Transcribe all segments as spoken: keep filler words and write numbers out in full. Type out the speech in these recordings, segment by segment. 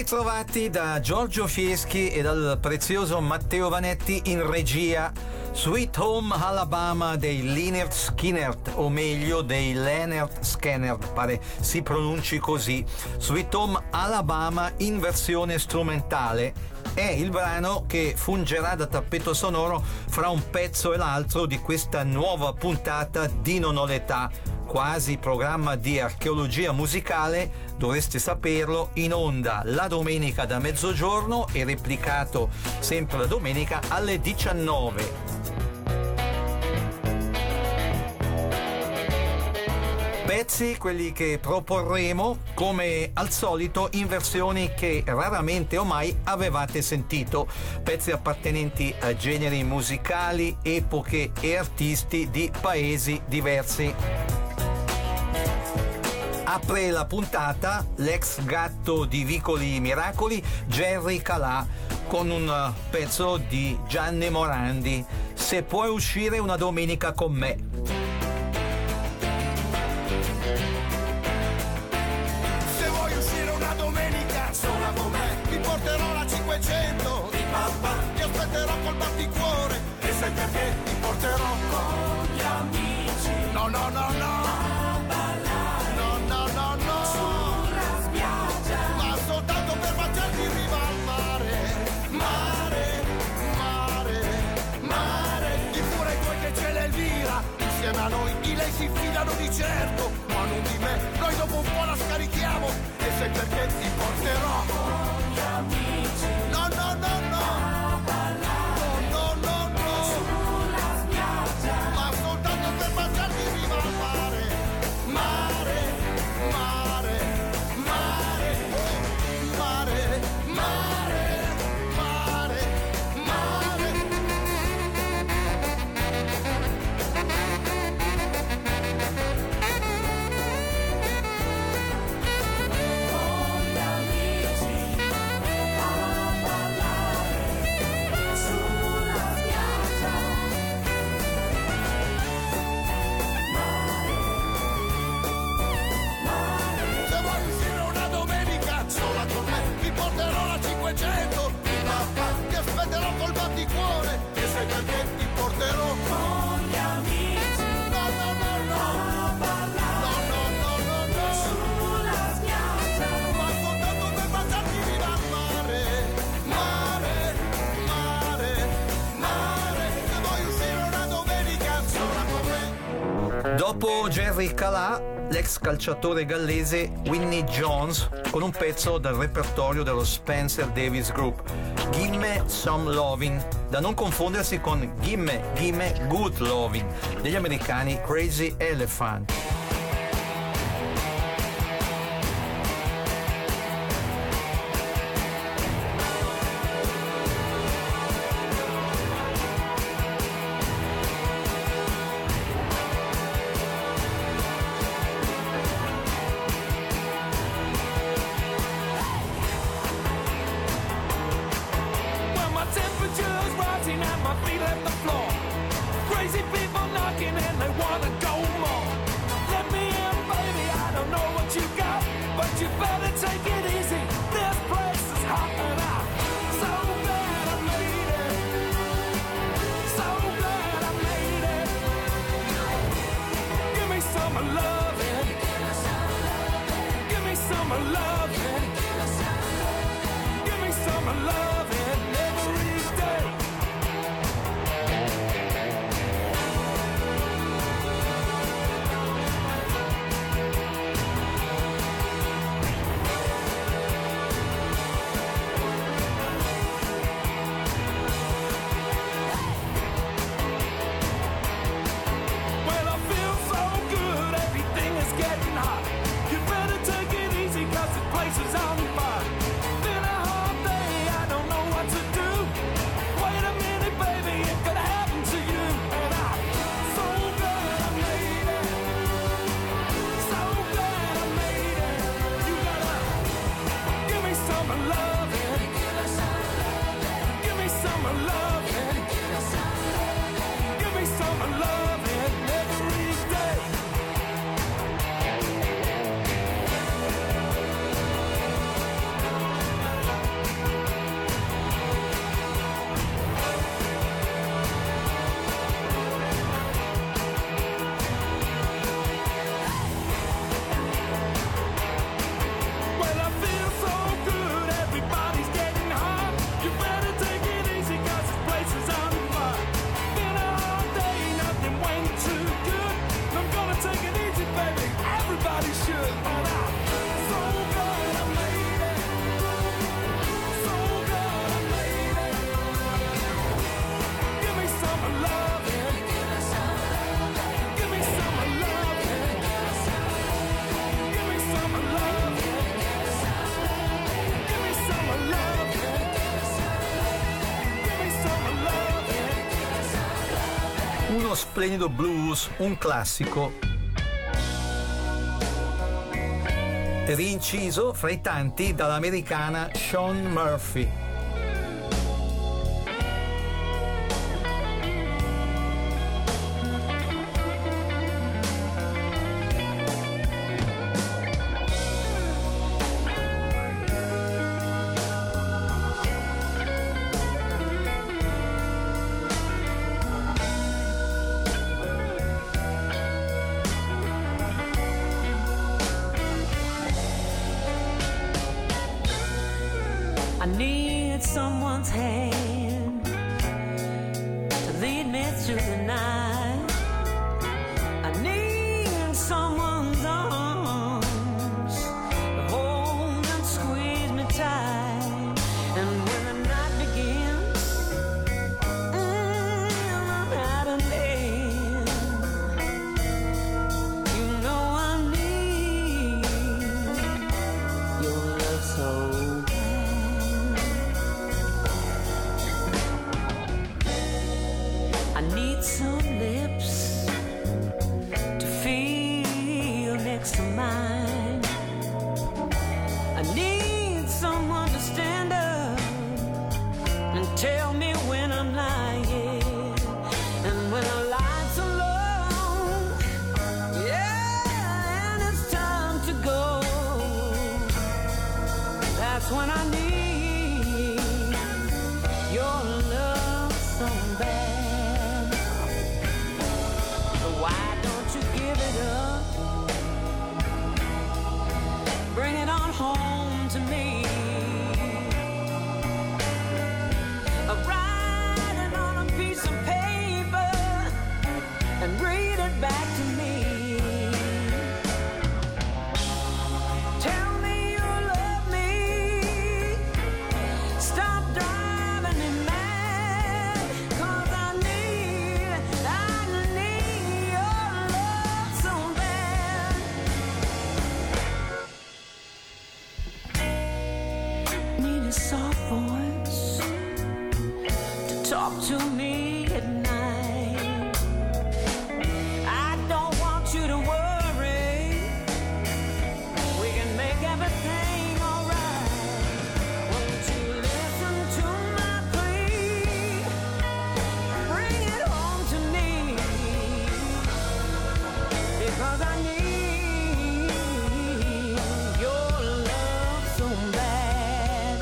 ritrovati da Giorgio Fieschi e dal prezioso Matteo Vanetti in regia. Sweet Home Alabama dei Lynyrd Skynyrd, o meglio dei Lynyrd Skynyrd, pare si pronunci così. Sweet Home Alabama in versione strumentale è il brano che fungerà da tappeto sonoro fra un pezzo e l'altro di questa nuova puntata di Non ho l'età, quasi programma di archeologia musicale, dovreste saperlo, in onda la domenica da mezzogiorno e replicato sempre la domenica alle diciannove. Pezzi, quelli che proporremo, come al solito, in versioni che raramente o mai avevate sentito, pezzi appartenenti a generi musicali, epoche e artisti di paesi diversi. Apre la puntata l'ex gatto di Vicoli Miracoli, Jerry Calà, con un pezzo di Gianni Morandi, Se puoi uscire una domenica con me. Se vuoi uscire una domenica sola con me, ti porterò la cinquecento di papà, ti aspetterò col batticuore, e sai perché ti porterò con gli amici. No, no, no, no. Insieme a noi di lei si fidano di certo, ma non di me, noi dopo un po' la scarichiamo, e sai perché ti porterò con gli amici. No, no, no, no, a ballare, no, no, no, no, sulla spiaggia, ma soltanto per baciarti in riva al mare. Mare, mare, mare, mare, mare, mare, mare. Ti aspetterò col batticuore, e sai perché ti porterò con gli amici. No, no, no, no, a ballare, no, no, no, no, no, sulla spiaggia, ma soltanto per baciarti viva al mare. Mare, mare, mare, se vuoi uscire una domenica sola con me. Dopo Jerry Calà, l'ex calciatore gallese Winnie Jones con un pezzo dal repertorio dello Spencer Davis Group, Gimme Some Lovin', da non confondersi con Gimme, Gimme Good Lovin' degli americani Crazy Elephant. Place splendido blues, un classico, rinciso fra i tanti dall'americana Shawn Murphy. I need someone's hand to lead me through the night. I need someone's arms to hold and squeeze me tight. And when the night begins and I'm at an end, you know I need your love so. I need some lips to feel next to mine. I need someone to stand up and tell me when I'm lying. And when the lights are low, yeah, and it's time to go, that's when I need your love so bad. Bring it on home to me. I'll write it on a piece of paper and read it back to me. Tell me you love me. Stop driving me mad. 'Cause I need, I need your love so bad. Need a soft voice to talk to me at night. I don't want you to worry. We can make everything alright. Won't you listen to my plea? Bring it home to me. Because I need your love so bad.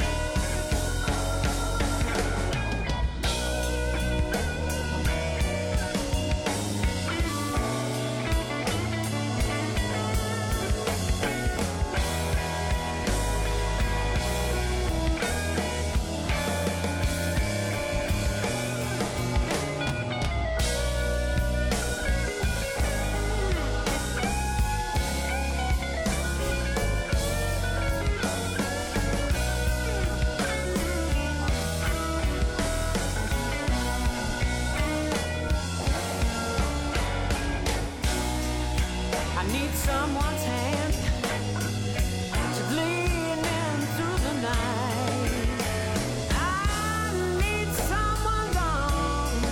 I need someone's hand to lead me through the night. I need someone's arms,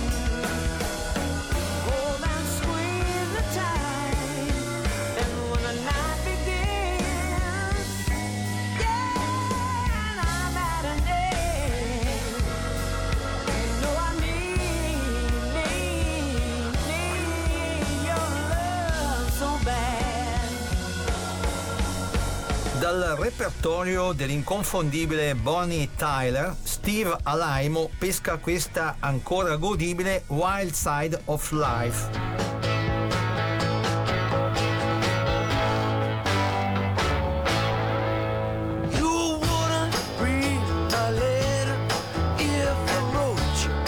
hold and squeeze me tight. And when the night begins, yeah, and I'm at an end, you know I need, need, need your love so bad. Dal repertorio dell'inconfondibile Bonnie Tyler, Steve Alaimo pesca questa ancora godibile Wild Side of Life. You wouldn't read my letter if I wrote you.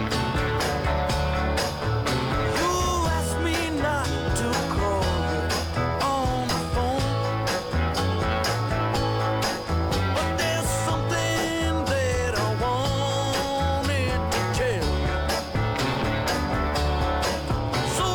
You asked me not to call you on the phone, but there's something that I wanted to tell you. So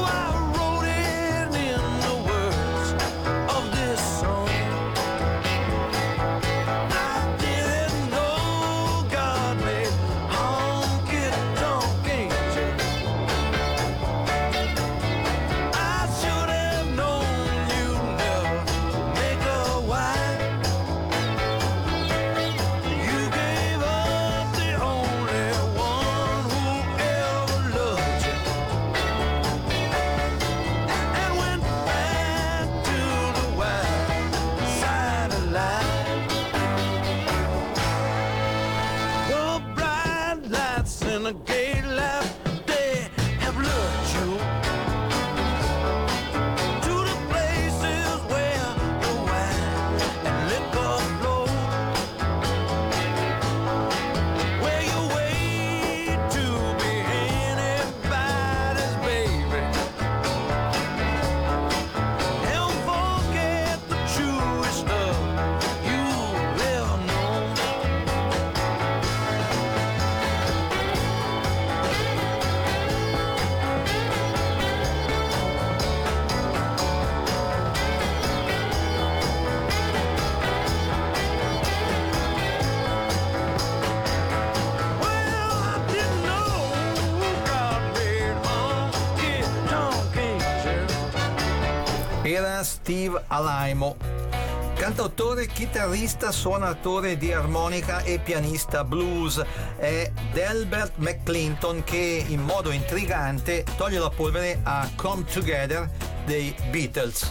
Era Steve Alaimo, cantautore, chitarrista, suonatore di armonica e pianista blues. È Delbert McClinton che in modo intrigante toglie la polvere a Come Together dei Beatles.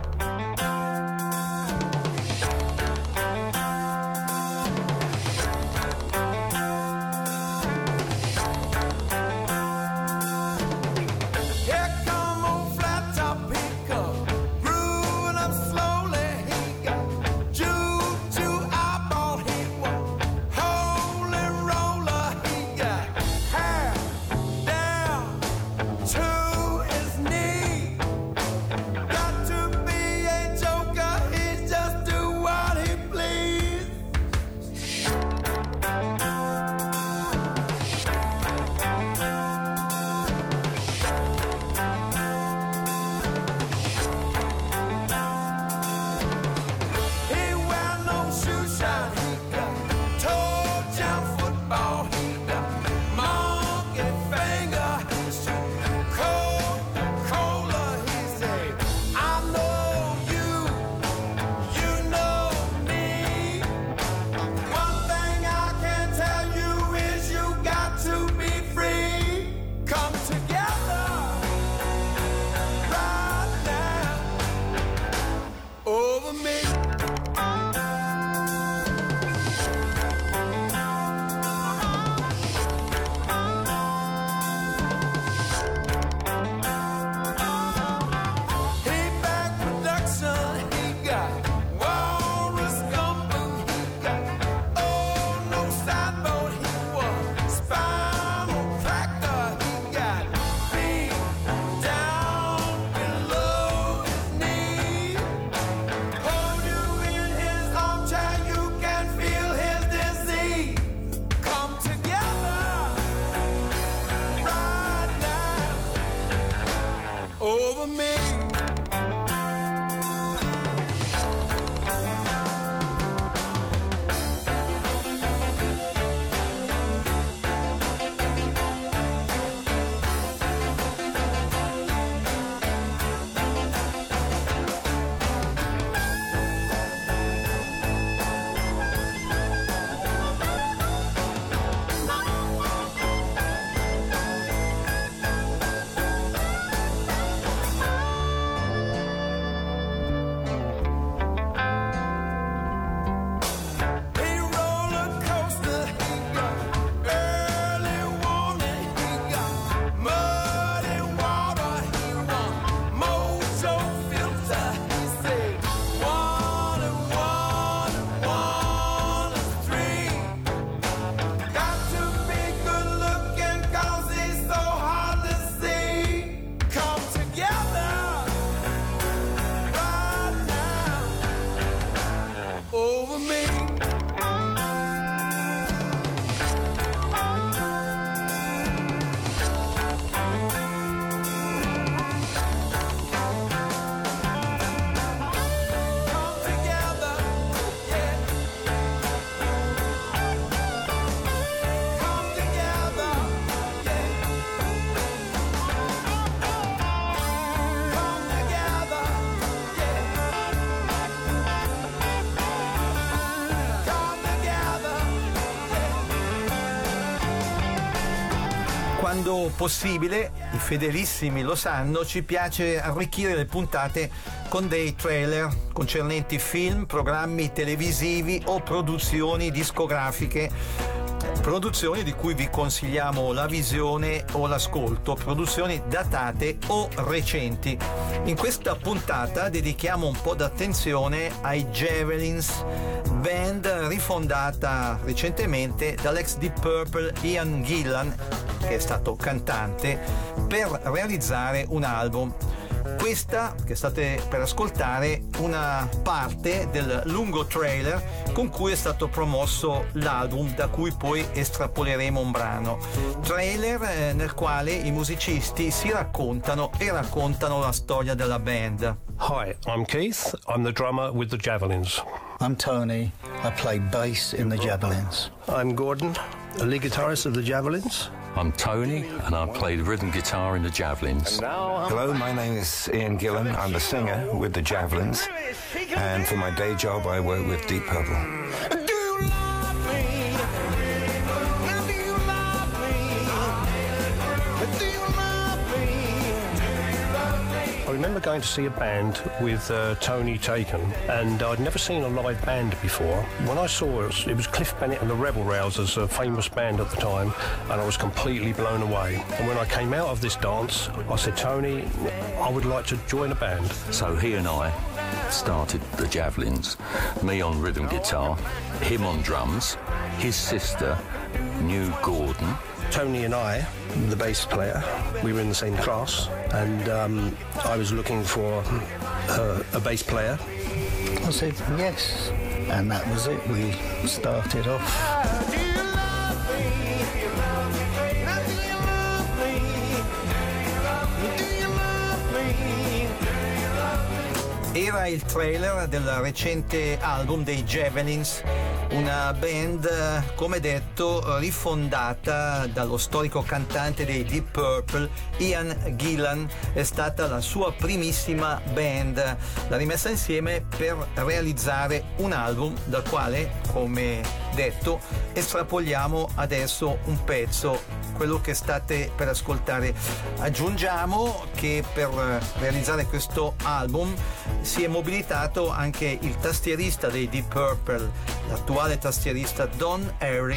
Quando possibile, i fedelissimi lo sanno, ci piace arricchire le puntate con dei trailer concernenti film, programmi televisivi o produzioni discografiche, produzioni di cui vi consigliamo la visione o l'ascolto, produzioni datate o recenti. In questa puntata dedichiamo un po' d'attenzione ai Javelins, band rifondata recentemente dall'ex Deep Purple Ian Gillan, che è stato cantante, per realizzare un album. Questa che state per ascoltare una parte del lungo trailer con cui è stato promosso l'album, da cui poi estrapoleremo un brano. Trailer eh, nel quale i musicisti si raccontano e raccontano la storia della band. Hi, I'm Keith. I'm the drummer with the Javelins. I'm Tony. I play bass in the Javelins. I'm Gordon, a lead guitarist of the Javelins. I'm Tony, and I play the rhythm guitar in the Javelins. Hello, my name is Ian Gillan. I'm the singer with the Javelins, and for my day job I work with Deep Purple. I remember going to see a band with uh, Tony Taken, and I'd never seen a live band before. When I saw it, it was Cliff Bennett and the Rebel Rousers, a famous band at the time, and I was completely blown away. And when I came out of this dance, I said, Tony, I would like to join a band. So he and I started the Javelins, me on rhythm guitar, him on drums, his sister, New Gordon. Tony and I, the bass player, we were in the same class, and um, I was looking for uh, a bass player. I said yes, and that was it. We started off. Do you love me? Do you love me? Do you love me? Era il trailer del recente album dei Javelins, una band, come detto, rifondata dallo storico cantante dei Deep Purple, Ian Gillan. È stata la sua primissima band, l'ha rimessa insieme per realizzare un album dal quale, come detto, estrapoliamo adesso un pezzo, quello che state per ascoltare. Aggiungiamo che per realizzare questo album si è mobilitato anche il tastierista dei Deep Purple, l'attuale tastierista Don Airey.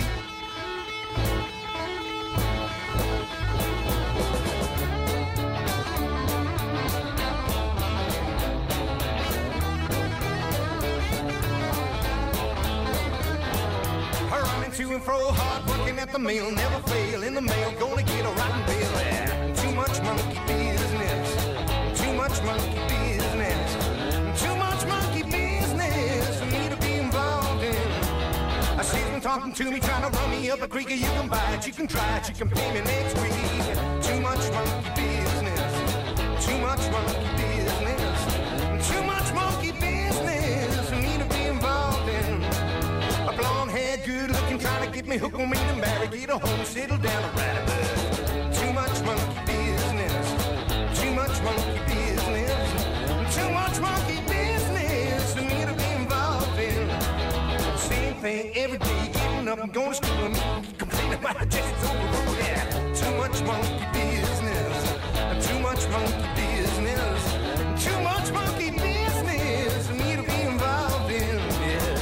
To and fro, hard working at the mill, never fail in the mail, gonna get a rotten bill. Yeah. Too much monkey business, too much monkey business, too much monkey business for me to be involved in. I see them talking to me, trying to run me up a creek. You can buy it, you can try it, you can pay me next week. Too much monkey business, too much monkey business, too much monkey business for me to be involved in. A blonde hair, good looking, trying to get me hooked on me to marry, get a home, settle down and ride a bus. Too much monkey business, too much monkey business, too much monkey business for me to be involved in. Same thing every day, getting up and going to school and complaining about the just over. Yeah, too much monkey business, too much monkey business, too much monkey business for me to be involved in. Yeah.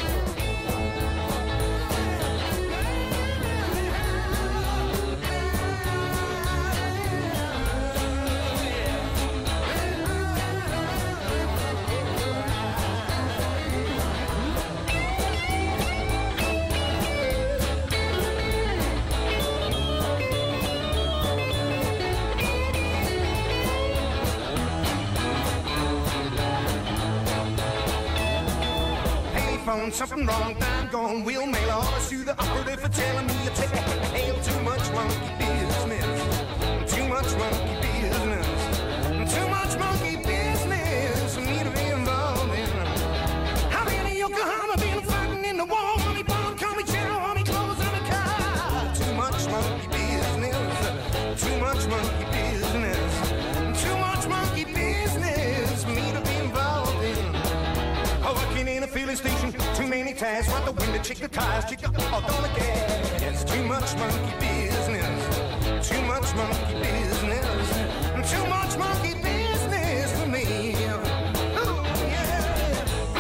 Something wrong, I'm gone. We'll mail all this to the operative for telling me to take hail. Too much monkey business, too much monkey business, too much monkey business for me to be involved in. How many Yokohama been fighting in the war? Money bomb, call me general, army clothes on a car. Too much monkey business, too much monkey business, too much monkey business for me to be involved in. Working in a filling station, too many ties, right the window, check the tires, check the oil on the gas. Too much monkey business, too much monkey business, too much monkey business for me. Ooh, yeah.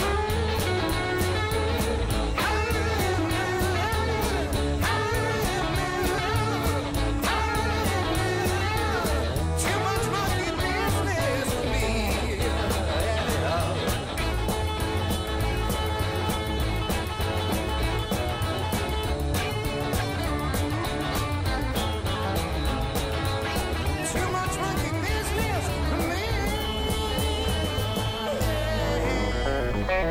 Too much monkey business for me. Too much monkey business.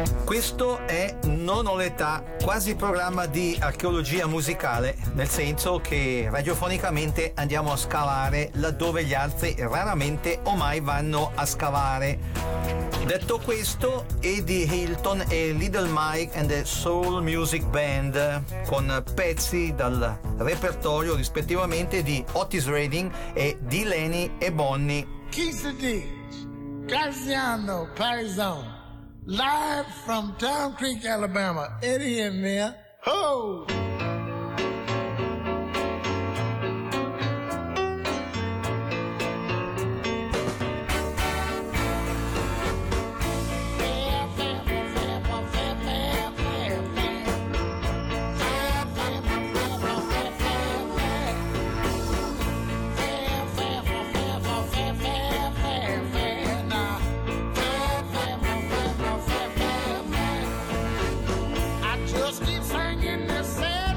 Questo è Non ho l'età, quasi programma di archeologia musicale, nel senso che radiofonicamente andiamo a scavare laddove gli altri raramente o mai vanno a scavare. Detto questo, Eddie Hilton e Little Mike and the Soul Music Band, con pezzi dal repertorio rispettivamente di Otis Redding e di Lenny e Bonnie. Keith Diggs, Graziano Parizon. Live from Town Creek, Alabama. Eddie in there. Ho! Just keep singing this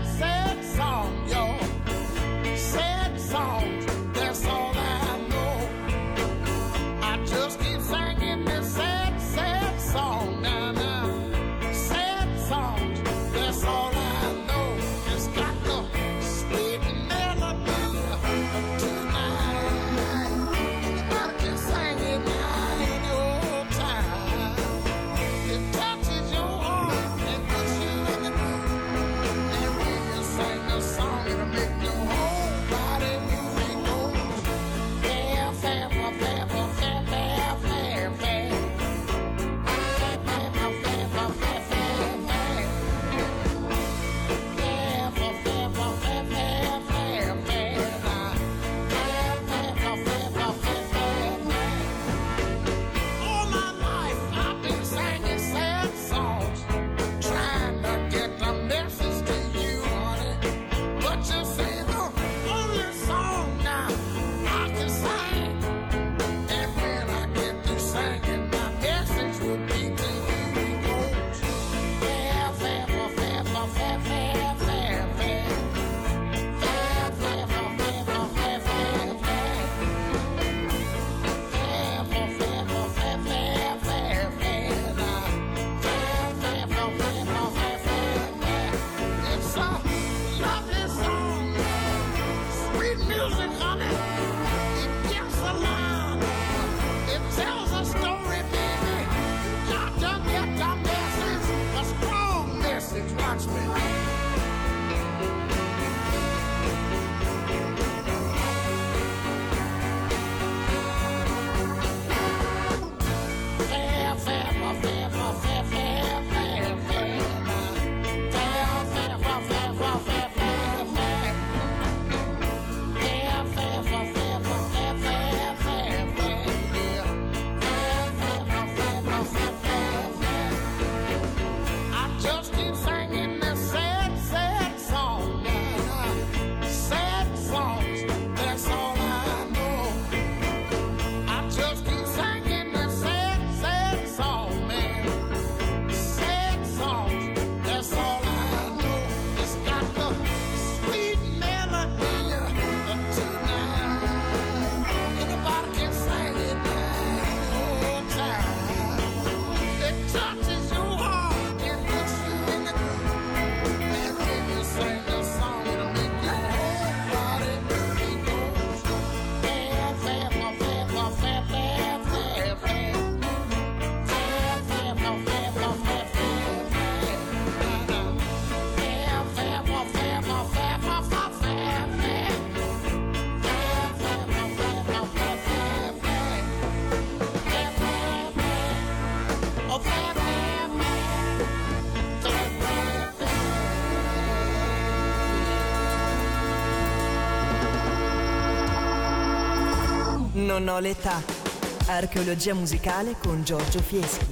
Non ho l'età. Archeologia musicale con Giorgio Fieschi.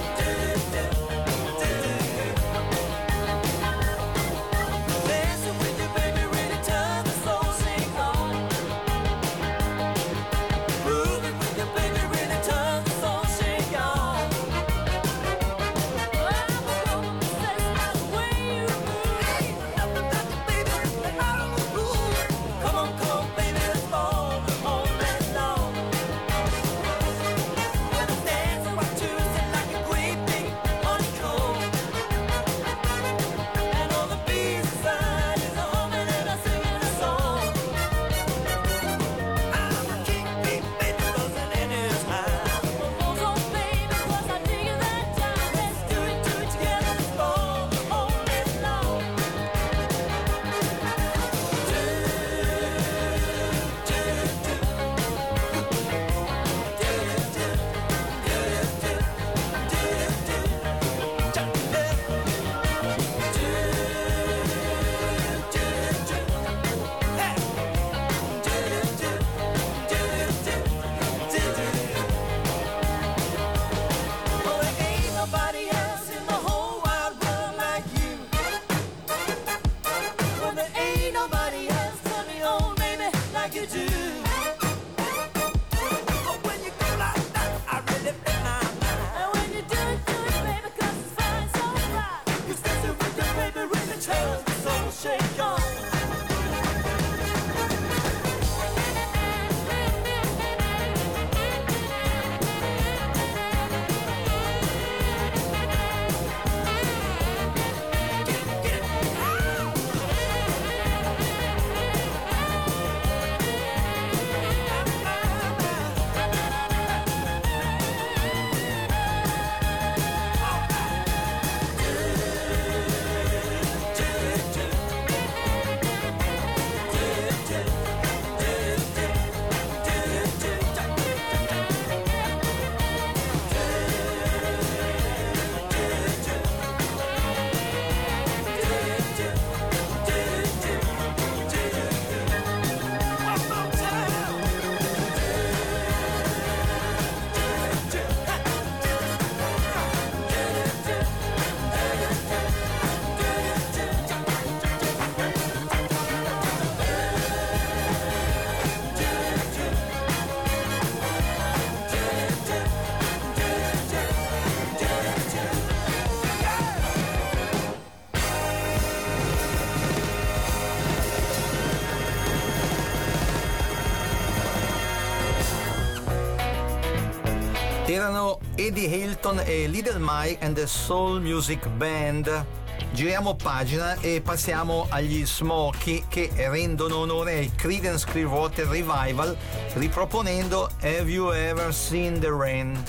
Dancing with Erano Eddie Hilton e Little Mike and the Soul Music Band. Giriamo pagina e passiamo agli Smokey, che rendono onore ai Creedence Clearwater Revival riproponendo Have You Ever Seen the Rain?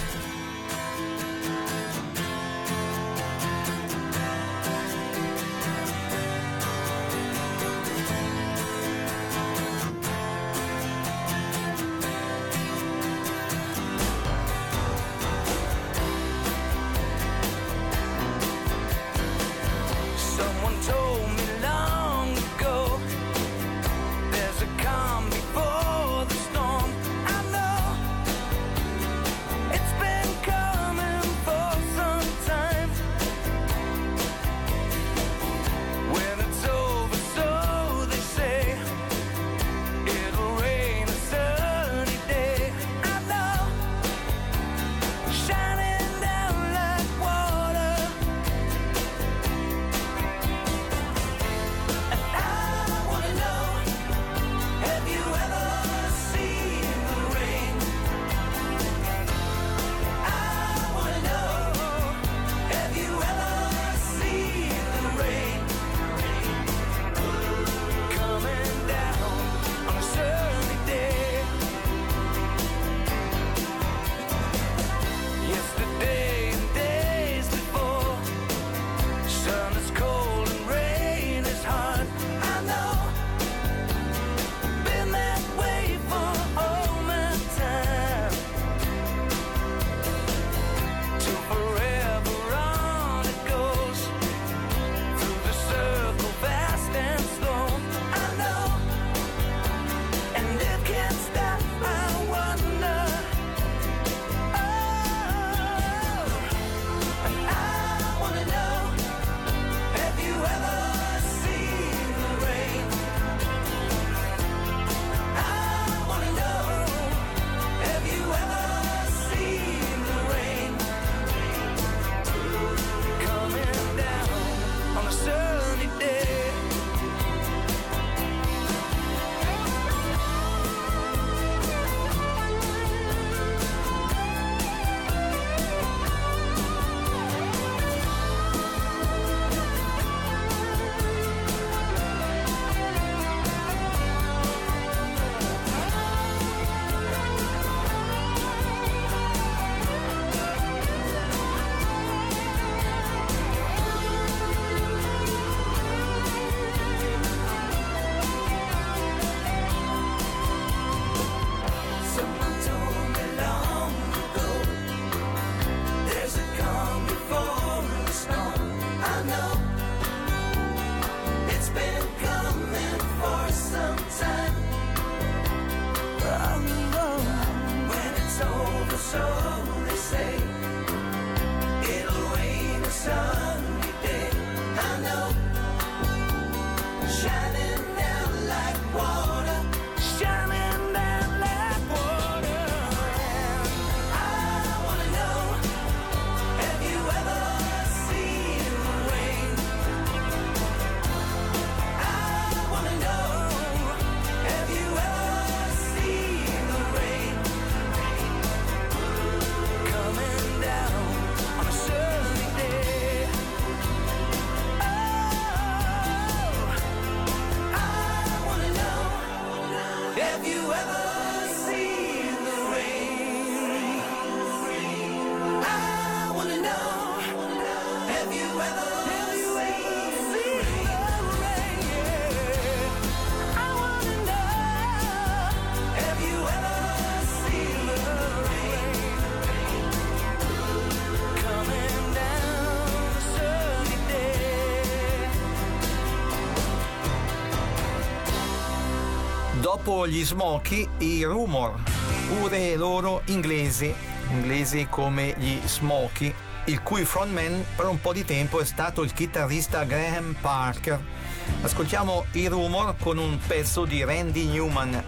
Dopo gli Smokey, i Rumor, pure loro inglesi, inglesi come gli Smokey, il cui frontman per un po' di tempo è stato il chitarrista Graham Parker. Ascoltiamo i Rumor con un pezzo di Randy Newman.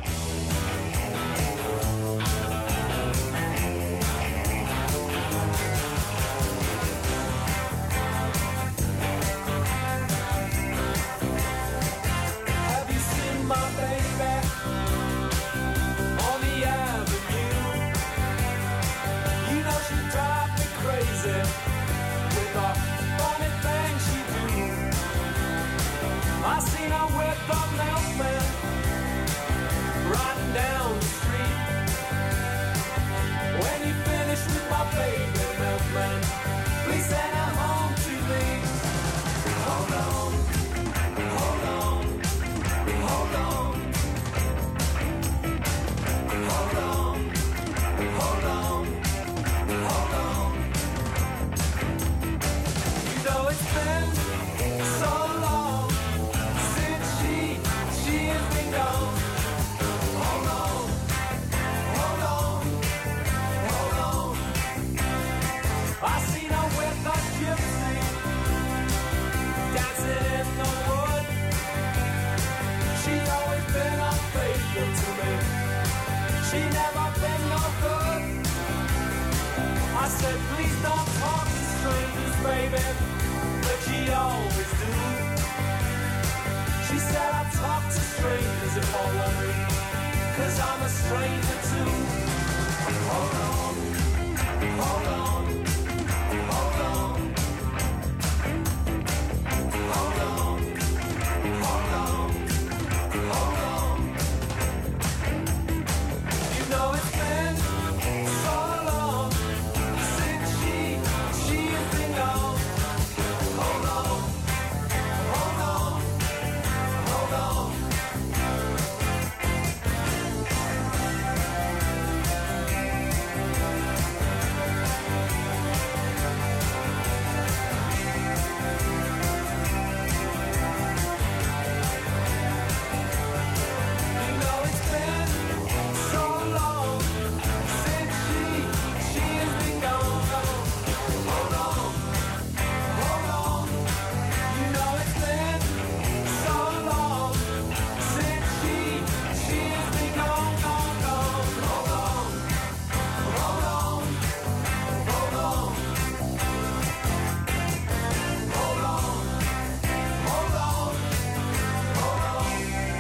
You know she seen her with the milkman riding down the street. When you finish with my baby milkman, please send her home to me. Hold on, hold on, hold on, hold on, hold on, hold on. You know it's been so long since she, she has been gone. Hold on, hold on, hold on. I seen her with a gypsy dancing in the wood. She's always been unfaithful to me. She never been no good. I said, please don't talk to strangers, baby, but she always do. She said I talk to strangers if I want to, 'cause I'm a stranger too. Hold on, hold on, hold on, hold on, hold on, hold on. You know it's been so long since she, she has been gone. Hold on, hold on, hold on. You know it's been so long since she, she has been gone. Hold on, hold on. You know it's been so long since she, she has been gone, gone, gone. Hold on, hold on, hold on, hold on, hold on, hold on.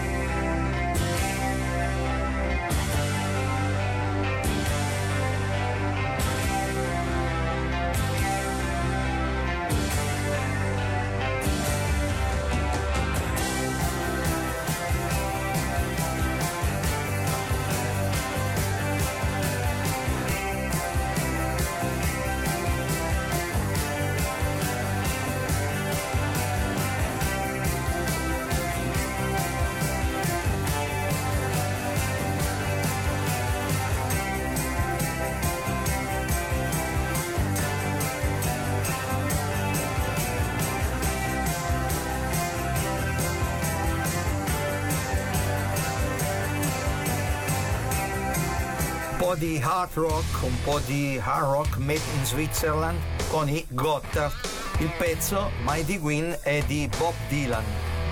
Un po' di hard rock, un po' di hard rock made in Switzerland con i Gotthard. Il pezzo Mighty Queen è di Bob Dylan.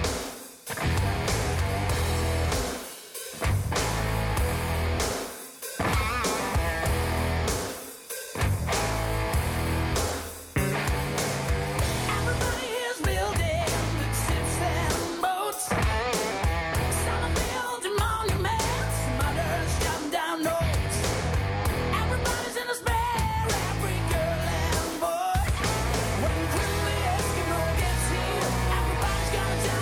Everybody is building ships and boats. Some are building monuments, some others shutting down roads. Everybody's in despair, every girl and boy. When quickly Eskimo gets here, everybody's gonna die.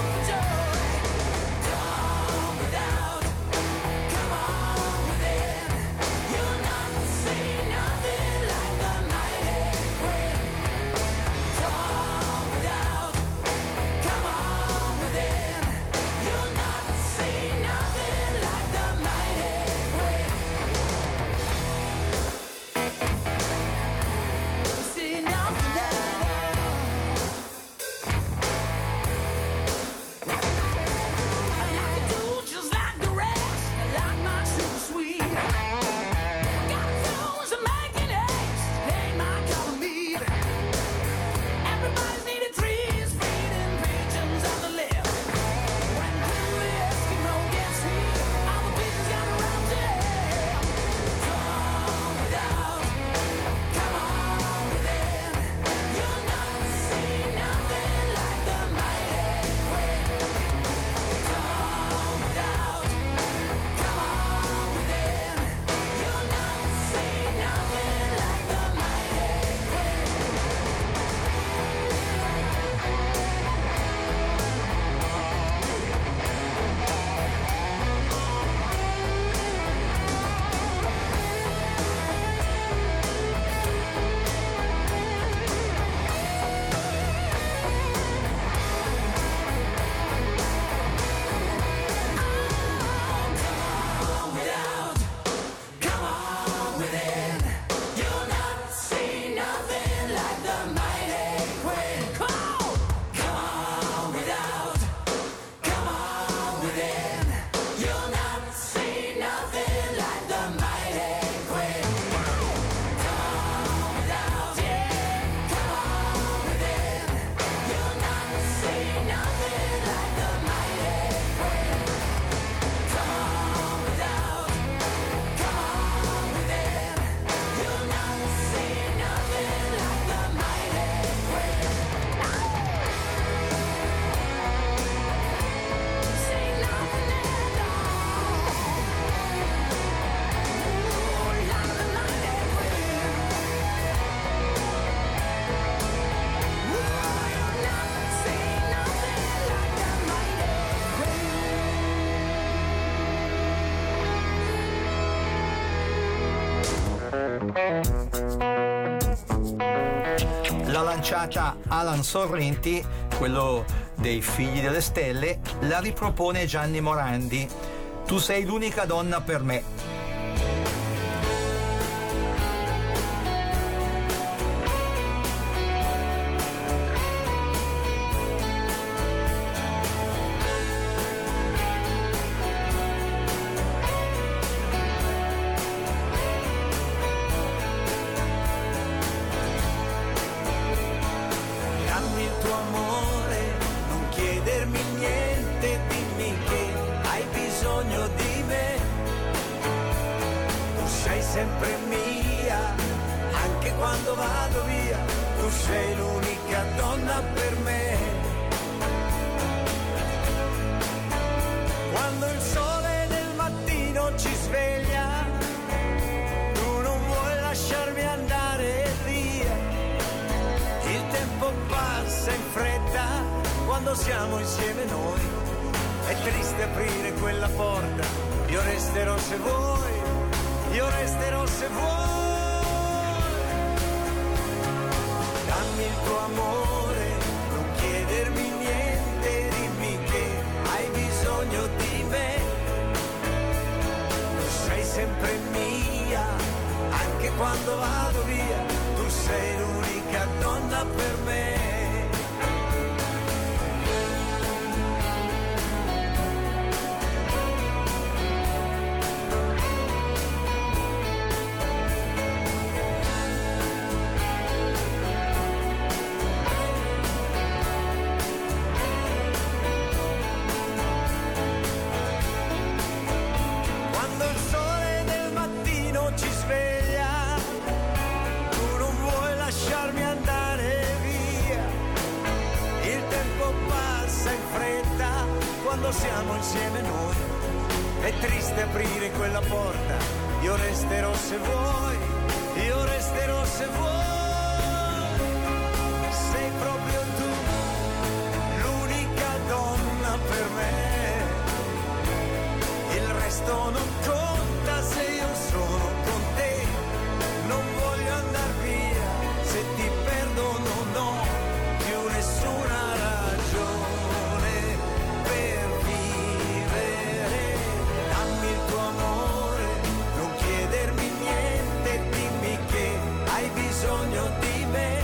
lasciata Alan Sorrenti, quello dei Figli delle Stelle, la ripropone Gianni Morandi. Tu sei l'unica donna per me. Sempre mia, anche quando vado via, tu sei l'unica donna per me. Quando il sole del mattino ci sveglia, tu non vuoi lasciarmi andare via. Il tempo passa in fretta quando siamo insieme noi. È triste aprire quella porta, io resterò se vuoi. Io resterò se vuoi. Dammi il tuo amore, non chiedermi niente, dimmi che hai bisogno di me. Tu sei sempre mia, anche quando vado via, tu sei l'unica donna per me. Quando siamo insieme noi, è triste aprire quella porta, io resterò se vuoi, io resterò se vuoi. Sei proprio tu, l'unica donna per me, il resto non conta se io sono con te, non voglio andar via, se ti perdo non ho più nessuna ragione. Bisogno di me,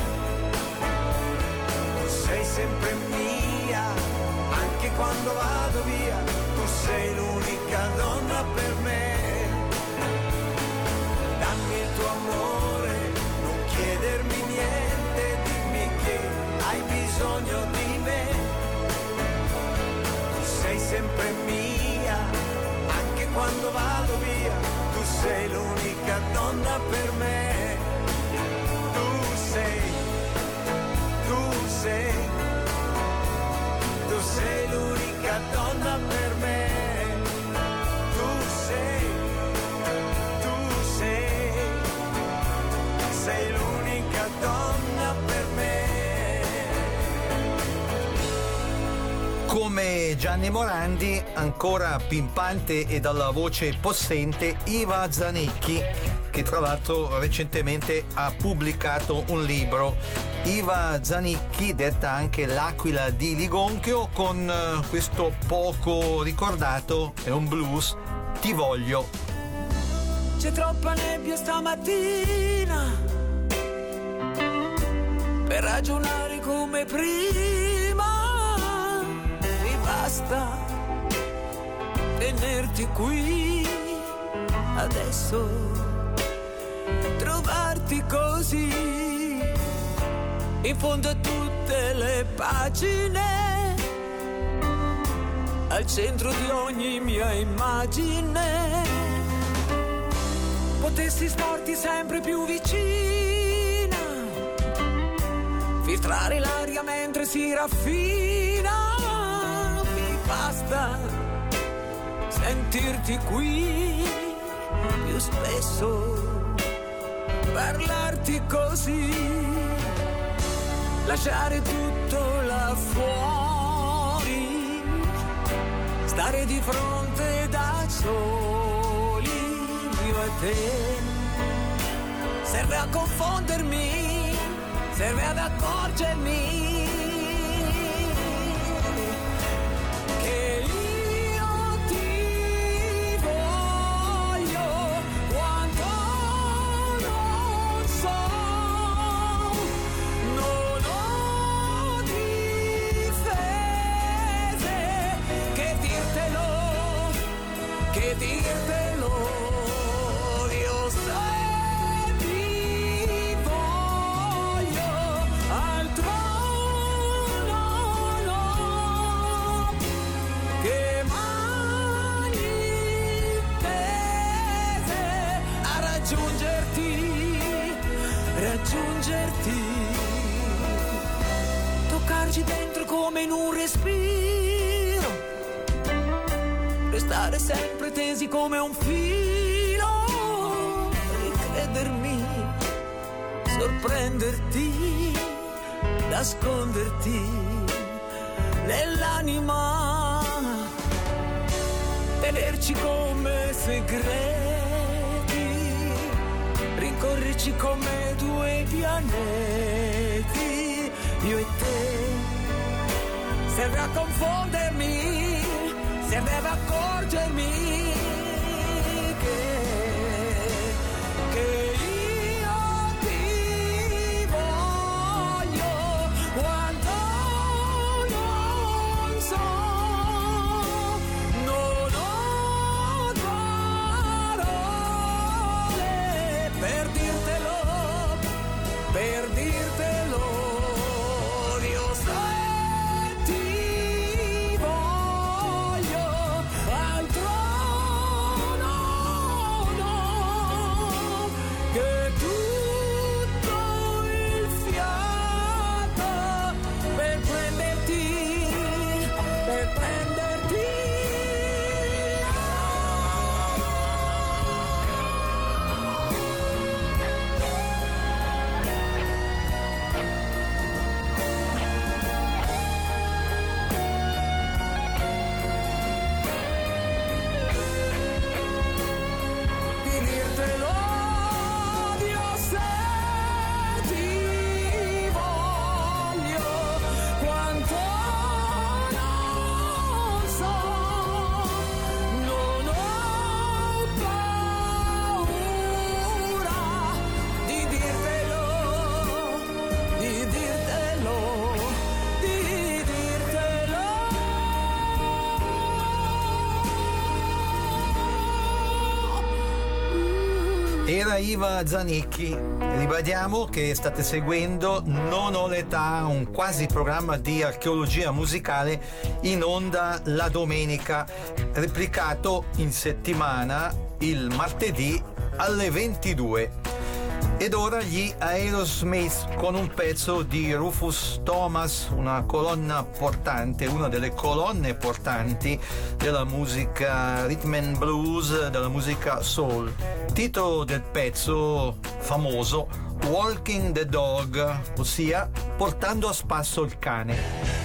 tu sei sempre mia, anche quando vado via, tu sei l'unica donna per me. Dammi il tuo amore, non chiedermi niente, dimmi che hai bisogno di me. Tu sei sempre mia, anche quando vado via, tu sei l'unica donna per me. Tu sei, tu sei l'unica donna per me. Tu sei, tu sei, sei l'unica donna per me. Come Gianni Morandi, ancora pimpante e dalla voce possente Iva Zanicchi, che tra l'altro recentemente ha pubblicato un libro. Iva Zanicchi, detta anche l'Aquila di Ligonchio, con questo poco ricordato, è un blues, Ti voglio. C'è troppa nebbia stamattina per ragionare come prima, mi basta tenerti qui adesso, trovarti così in fondo a tutte le pagine, al centro di ogni mia immagine. Potessi starti sempre più vicina, filtrare l'aria mentre si raffina, mi basta sentirti qui più spesso, parlarti così, lasciare tutto là fuori, stare di fronte da soli, io e te. Serve a confondermi serve ad accorgermi che io ti voglio quanto non so, non ho difese che dirtelo, che dirtelo, io se ti voglio altro no, no, che mani tese a raggiungerti, raggiungerti, toccarci dentro come in un respiro, restare sempre tesi come un filo, ricredermi, sorprenderti, nasconderti nell'anima, tenerci come segreti, rincorrerci come due pianeti, io e te, serve a confondermi, serve ad accorgermi che, che io ti voglio quanto non so, non ho parole per dirtelo, per dirtelo, io so. Era Iva Zanicchi. Ribadiamo che state seguendo Non ho l'età, un quasi programma di archeologia musicale in onda la domenica, replicato in settimana il martedì alle ventidue. Ed ora gli Aerosmith con un pezzo di Rufus Thomas, una colonna portante, una delle colonne portanti della musica rhythm and blues, della musica soul. Titolo del pezzo famoso Walking the Dog, ossia portando a spasso il cane.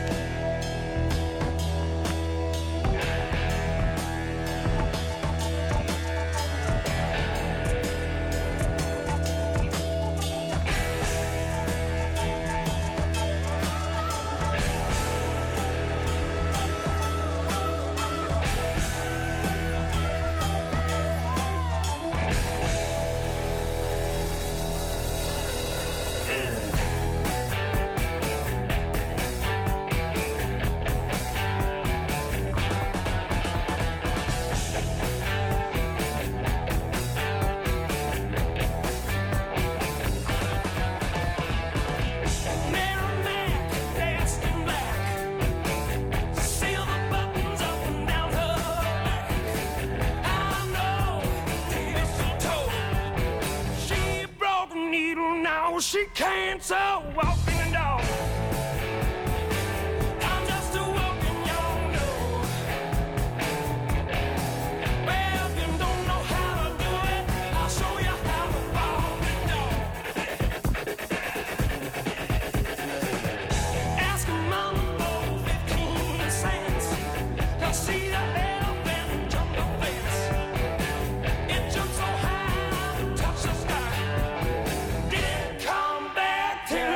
She can't so walking the dog. I'm just a walking young dog. Well, if you don't know how to do it, I'll show you how to walk the dog. Ask your mama for fifteen cents. You'll see the elephant jump the fence. It jumps so high, touch the sky. Did it come back to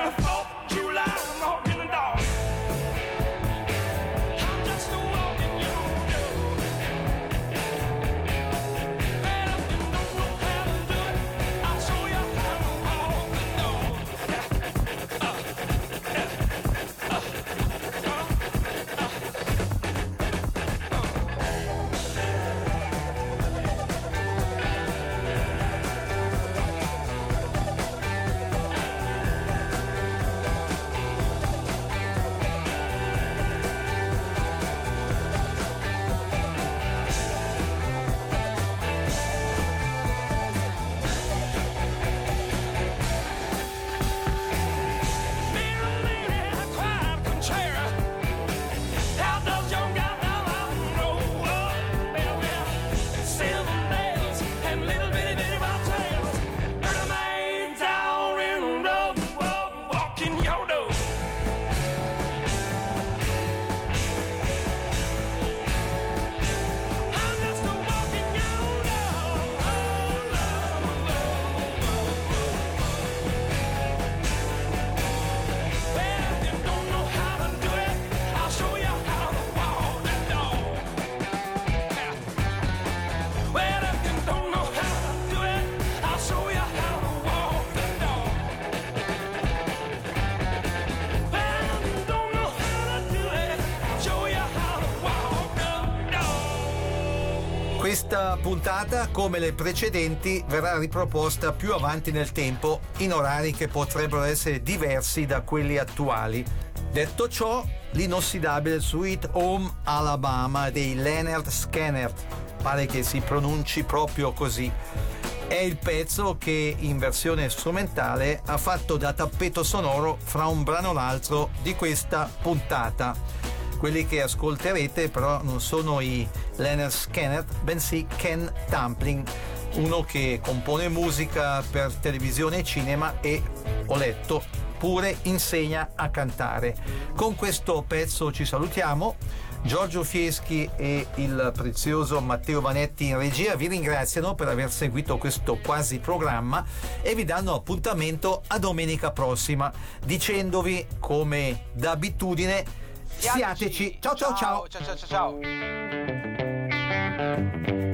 Questa puntata, come le precedenti, verrà riproposta più avanti nel tempo in orari che potrebbero essere diversi da quelli attuali. Detto ciò, l'inossidabile Sweet Home Alabama dei Lynyrd Skynyrd, pare che si pronunci proprio così, è il pezzo che in versione strumentale ha fatto da tappeto sonoro fra un brano e l'altro di questa puntata. Quelli che ascolterete però non sono i Lynyrd Skynyrd, bensì Ken Tamplin, uno che compone musica per televisione e cinema e, ho letto, pure insegna a cantare. Con questo pezzo ci salutiamo. Giorgio Fieschi e il prezioso Matteo Vanetti in regia vi ringraziano per aver seguito questo quasi programma e vi danno appuntamento a domenica prossima, dicendovi, come d'abitudine, siateci. Ciao ciao ciao. Ciao ciao ciao ciao.